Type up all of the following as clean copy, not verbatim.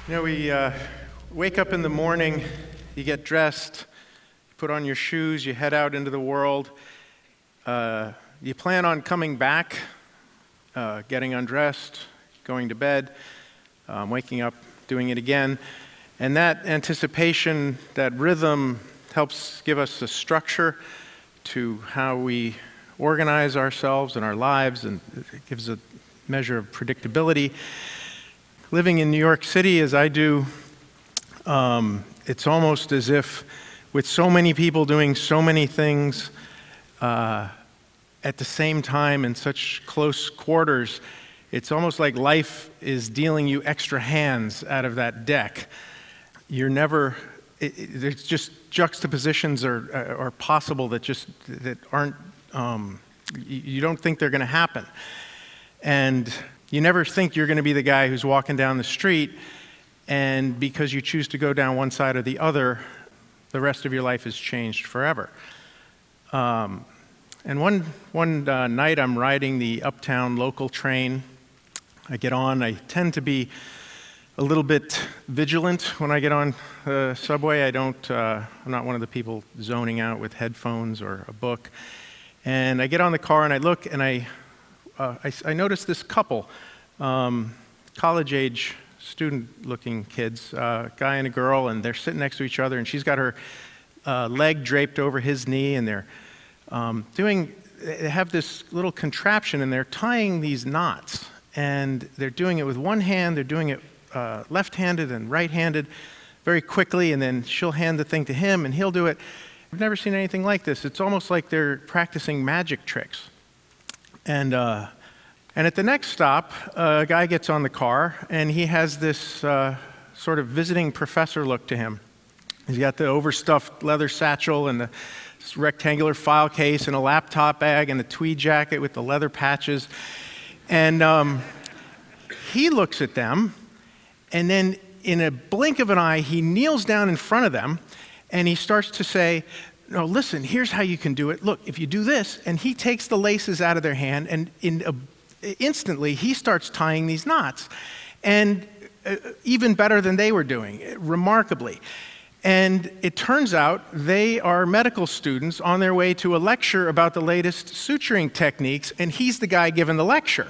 We wake up in the morning, you get dressed, put on your shoes, you head out into the world. You plan on coming back, getting undressed, going to bed, waking up, doing it again. And that anticipation, that rhythm, helps give us a structure to how we organize ourselves and our lives, and it gives a measure of predictability. Living in New York City as I do, it's almost as if with so many people doing so many things at the same time in such close quarters, it's almost like life is dealing you extra hands out of that deck. You're never, there's just juxtapositions are possible that aren't, you don't think they're going to happen. And you never think you're going to be the guy who's walking down the street, and because you choose to go down one side or the other, the rest of your life is changed forever. And one night I'm riding the Uptown local train. I get on. I tend to be a little bit vigilant when I get on the subway. I'm not one of the people zoning out with headphones or a book. And I get on the car and I look and I noticed this couple, college-age, student-looking kids, a guy and a girl, and they're sitting next to each other, and she's got her leg draped over his knee, and they have this little contraption, and they're tying these knots, and they're doing it with one hand, they're doing it left-handed and right-handed very quickly, and then she'll hand the thing to him, and he'll do it. I've never seen anything like this. It's almost like they're practicing magic tricks. And at the next stop, a guy gets on the car, and he has this sort of visiting professor look to him. He's got the overstuffed leather satchel and the rectangular file case and a laptop bag and the tweed jacket with the leather patches. And he looks at them, and then in a blink of an eye, he kneels down in front of them, and he starts to say, "No, listen, here's how you can do it. Look, if you do this," and he takes the laces out of their hand, and instantly he starts tying these knots, and even better than they were doing, remarkably. And it turns out they are medical students on their way to a lecture about the latest suturing techniques, and he's the guy giving the lecture.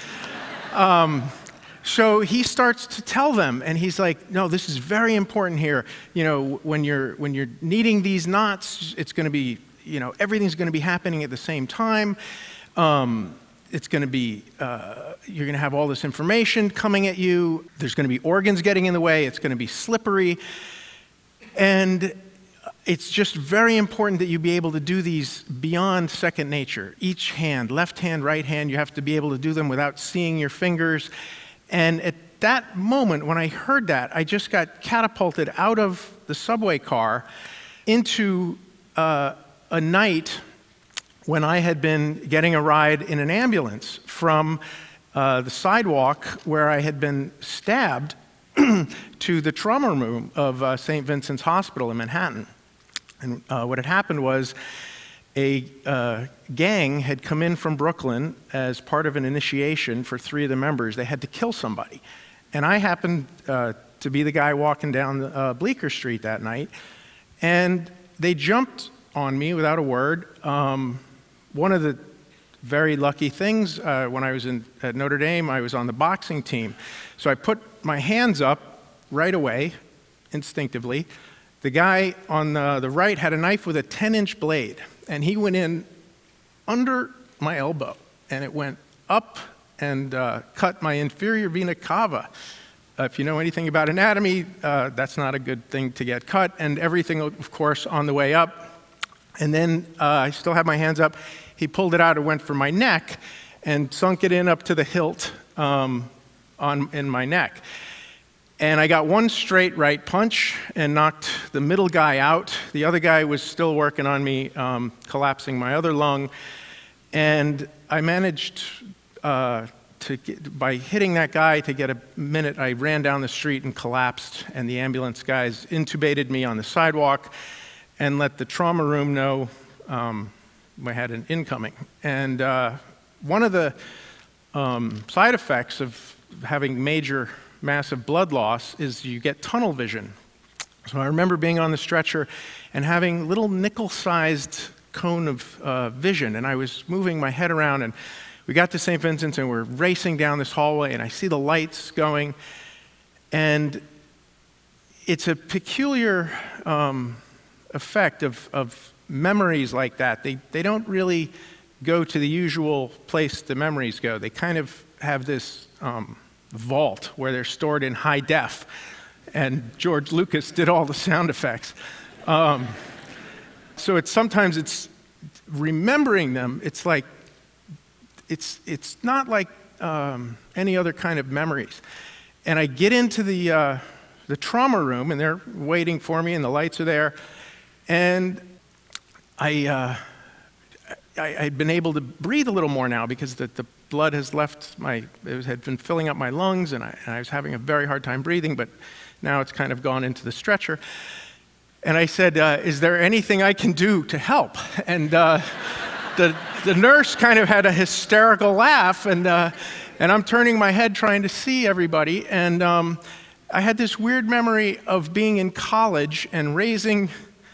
So he starts to tell them, and he's like, "No, this is very important here. When you're kneading these knots, it's going to be, everything's going to be happening at the same time. It's going to be, you're going to have all this information coming at you. There's going to be organs getting in the way. It's going to be slippery. And it's just very important that you be able to do these beyond second nature. Each hand, left hand, right hand, you have to be able to do them without seeing your fingers." And at that moment, when I heard that, I just got catapulted out of the subway car into a night when I had been getting a ride in an ambulance from the sidewalk where I had been stabbed to the trauma room of St. Vincent's Hospital in Manhattan. And what had happened was a gang had come in from Brooklyn as part of an initiation for 3 of the members. They had to kill somebody. And I happened to be the guy walking down Bleecker Street that night. And they jumped on me without a word. One of the very lucky things, when I was at Notre Dame, I was on the boxing team. So I put my hands up right away, instinctively. The guy on the right had a knife with a 10-inch blade, and he went in under my elbow, and it went up and cut my inferior vena cava. If you know anything about anatomy, that's not a good thing to get cut, and everything, of course, on the way up. And then I still have my hands up. He pulled it out and went for my neck and sunk it in up to the hilt in my neck. And I got one straight right punch and knocked the middle guy out. The other guy was still working on me, collapsing my other lung. And I managed by hitting that guy to get a minute. I ran down the street and collapsed, and the ambulance guys intubated me on the sidewalk and let the trauma room know I had an incoming. And one of the side effects of having major, massive blood loss is you get tunnel vision. So I remember being on the stretcher and having little nickel-sized cone of vision, and I was moving my head around, and we got to St. Vincent's, and we're racing down this hallway, and I see the lights going, and it's a peculiar effect of memories like that. They don't really go to the usual place the memories go. They kind of have this vault where they're stored in high def, and George Lucas did all the sound effects. So sometimes it's remembering them. It's like it's not like any other kind of memories. And I get into the trauma room, and they're waiting for me, and the lights are there, and I'd been able to breathe a little more now because the blood has left had been filling up my lungs, and I was having a very hard time breathing, but now it's kind of gone into the stretcher. And I said, is there anything I can do to help? And the nurse kind of had a hysterical laugh, and I'm turning my head trying to see everybody, and I had this weird memory of being in college and raising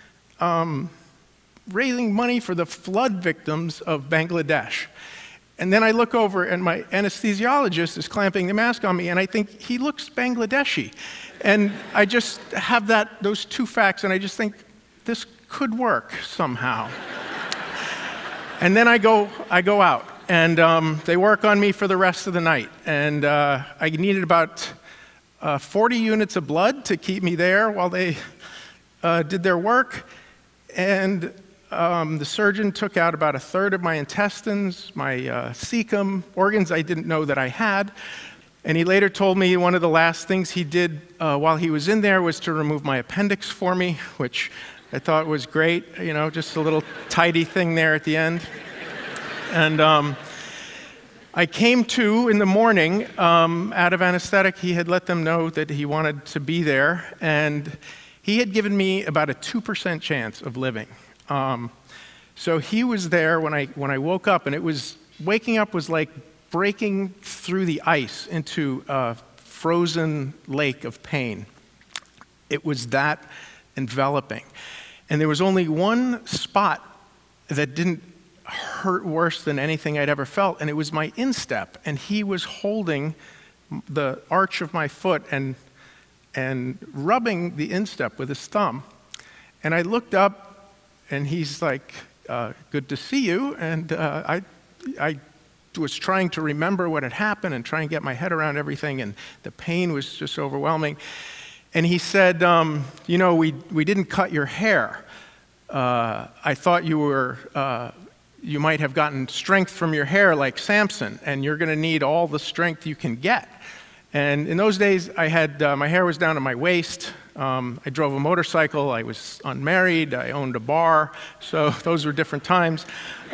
money for the flood victims of Bangladesh. And then I look over, and my anesthesiologist is clamping the mask on me, and I think he looks Bangladeshi. And I just have those two facts, and I just think this could work somehow. And then I go out, and they work on me for the rest of the night. And I needed about 40 units of blood to keep me there while they did their work. And the surgeon took out about a third of my intestines, my cecum, organs I didn't know that I had. And he later told me one of the last things he did while he was in there was to remove my appendix for me, which I thought was great, just a little tidy thing there at the end. And I came to in the morning out of anesthetic. He had let them know that he wanted to be there, and he had given me about a 2% chance of living. So he was there when I woke up, and waking up was like breaking through the ice into a frozen lake of pain. It was that enveloping. And there was only one spot that didn't hurt worse than anything I'd ever felt, and it was my instep. And he was holding the arch of my foot and rubbing the instep with his thumb. And I looked up, and he's like, good to see you. And I was trying to remember what had happened and try and get my head around everything, and the pain was just overwhelming. And he said, we didn't cut your hair. I thought you might have gotten strength from your hair like Samson, and you're going to need all the strength you can get. And in those days, I had my hair was down to my waist. I drove a motorcycle. I was unmarried. I owned a bar. So those were different times.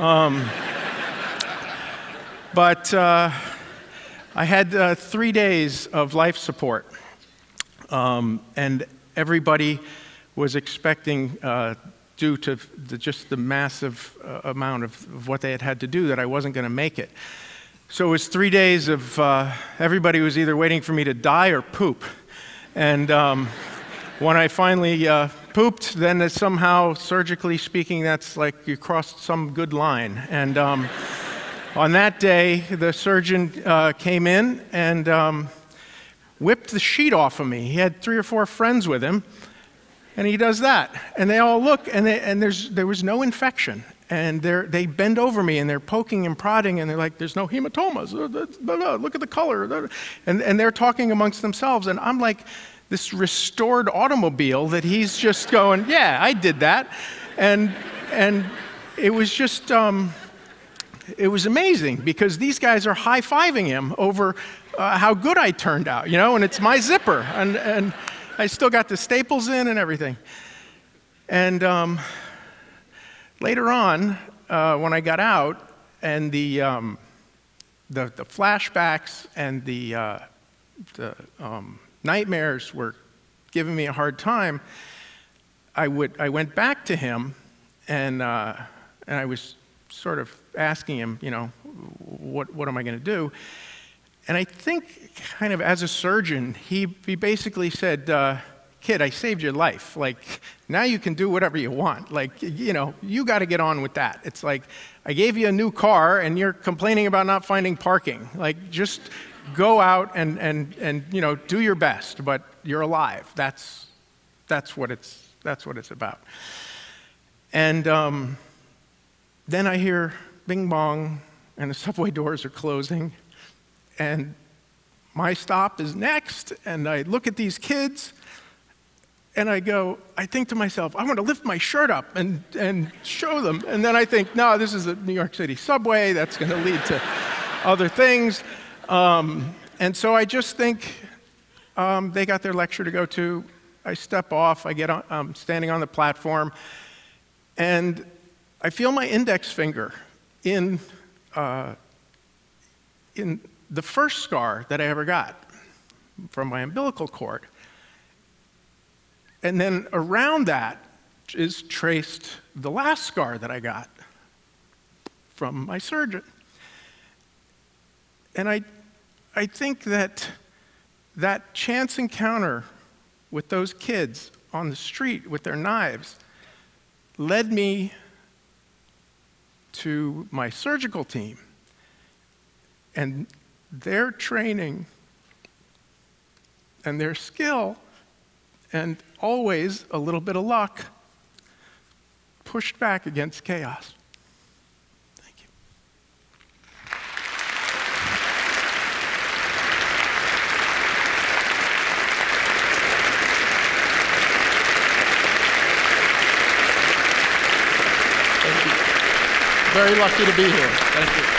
But I had 3 days of life support. And everybody was expecting, due to just the massive amount of what they had to do, that I wasn't going to make it. So it was 3 days of everybody was either waiting for me to die or poop. And when I finally pooped, then somehow, surgically speaking, that's like you crossed some good line. And on that day, the surgeon came in and whipped the sheet off of me. He had 3 or 4 friends with him, and he does that. And they all look, and there was no infection. And they bend over me, and they're poking and prodding, and they're like, there's no hematomas. Look at the color. And they're talking amongst themselves. And I'm like this restored automobile that he's just going, yeah, I did that. And it was just, it was amazing, because these guys are high-fiving him over how good I turned out, and it's my zipper. And I still got the staples in and everything. And later on, when I got out, and the flashbacks and the nightmares were giving me a hard time, I went back to him, and I was sort of asking him, what am I going to do? And I think kind of as a surgeon, he basically said, kid, I saved your life. Like, now you can do whatever you want. Like, you got to get on with that. It's like, I gave you a new car and you're complaining about not finding parking. Like, just go out and do your best, but you're alive. That's what it's about. And then I hear bing bong and the subway doors are closing and my stop is next, and I look at these kids and I think to myself, I want to lift my shirt up and show them. And then I think, no, this is a New York City subway. That's going to lead to other things. And so I just think they got their lecture to go to. I step off. I'm standing on the platform. And I feel my index finger in the first scar that I ever got from my umbilical cord. And then around that is traced the last scar that I got from my surgeon. And I think that chance encounter with those kids on the street with their knives led me to my surgical team. And their training and their skill, and always a little bit of luck, pushed back against chaos. Thank you. Thank you. Very lucky to be here. Thank you.